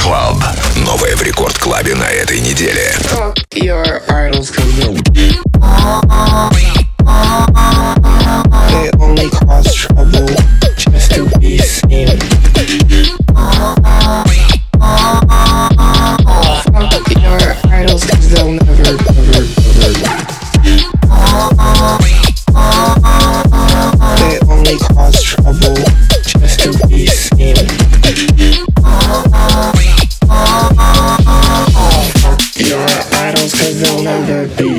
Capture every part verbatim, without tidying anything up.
Club. Новое в Рекорд Клабе на этой неделе. Fuck your idols, 'cause they only cause trouble just to be seen. Fuck your idols, 'cause they'll never, never, never. They only cause trouble just to be seen. Fuck your idols, 'cause they'll never be.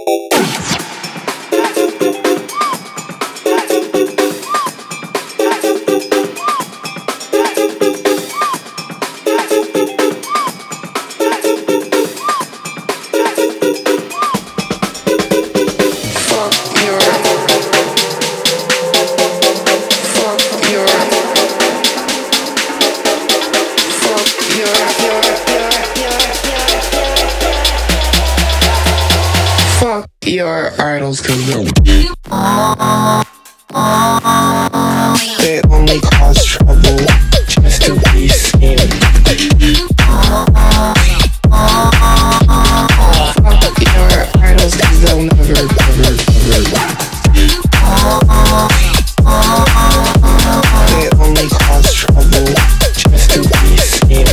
Your idols, 'cause they only cause trouble just to be seen. Fuck your idols, 'cause they'll never, never, never. They only cause trouble just to be seen.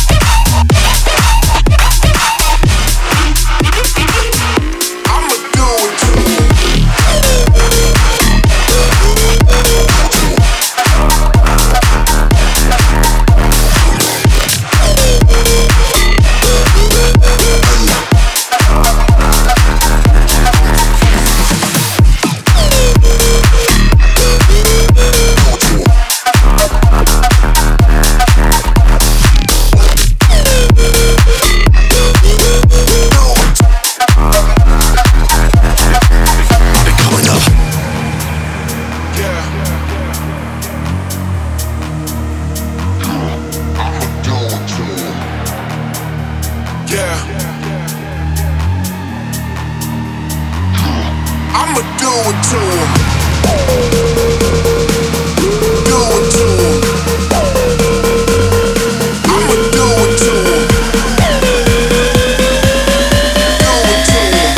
I'ma do I'ma do it to him. Do it to him. I'ma do it to him. Do it to him.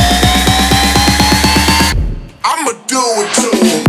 I'ma do it to him.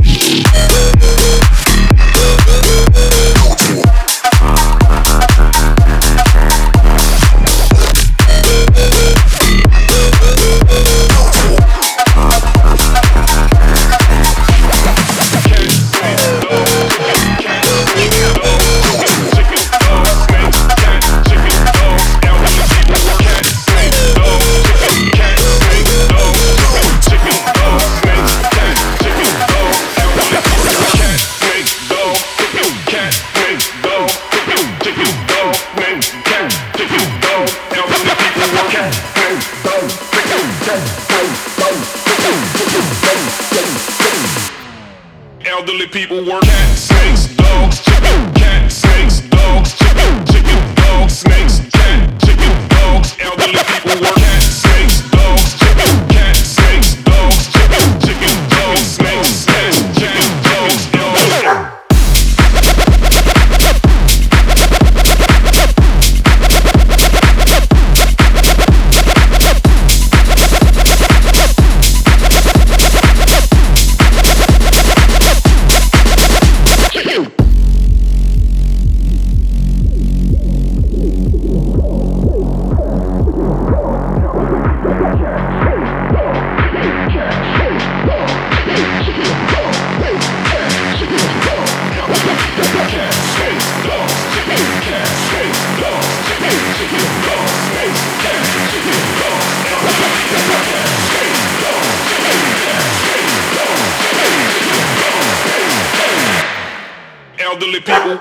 Elderly people work cat, snakes, dogs, chicken, cat, snakes, dogs, chicken, chicken, dogs, snakes, cat, chicken, dogs. Elderly people work cat, snakes, dogs, chicken, cat, snakes, dogs, chicken, chicken, dogs, snakes, cat, chicken, dogs. Elderly. Elderly people.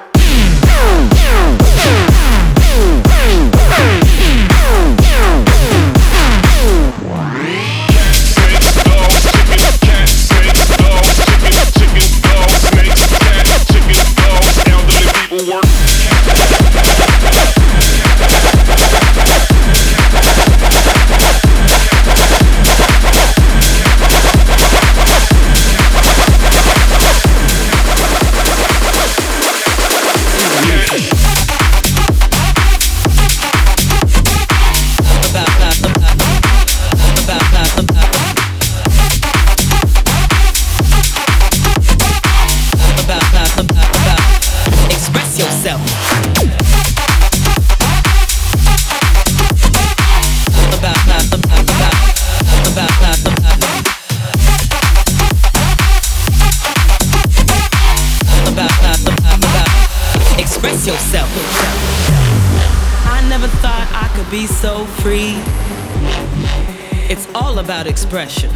Be so free. It's all about expression.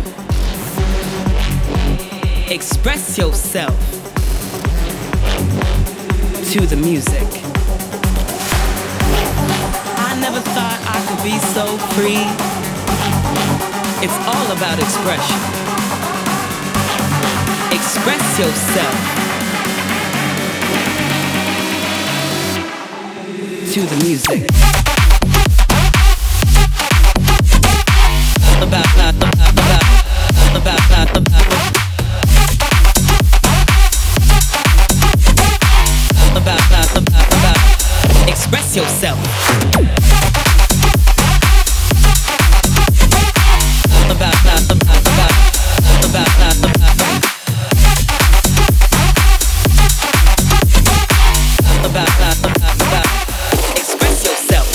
Express yourself to the music. I never thought I could be so free. It's all about expression. Express yourself to the music. About, about, about, about, about, about, about, about, about, express yourself. About, about, about, about, about, about, about, about, about, express yourself.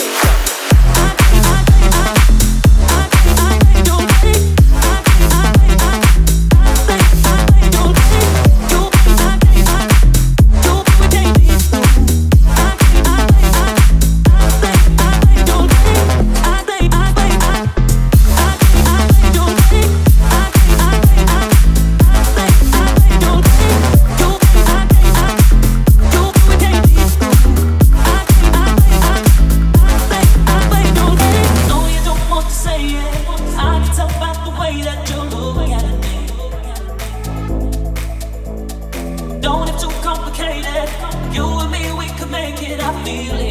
Don't have too complicated. You and me, we could make it. I feel it.